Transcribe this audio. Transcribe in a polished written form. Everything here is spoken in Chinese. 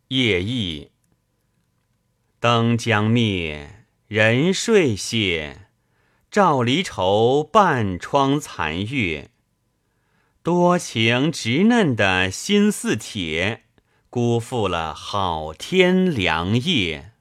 夜忆灯将灭，人睡歇，照离愁半窗残月。多情直嫩的心似铁，辜负了好天良夜。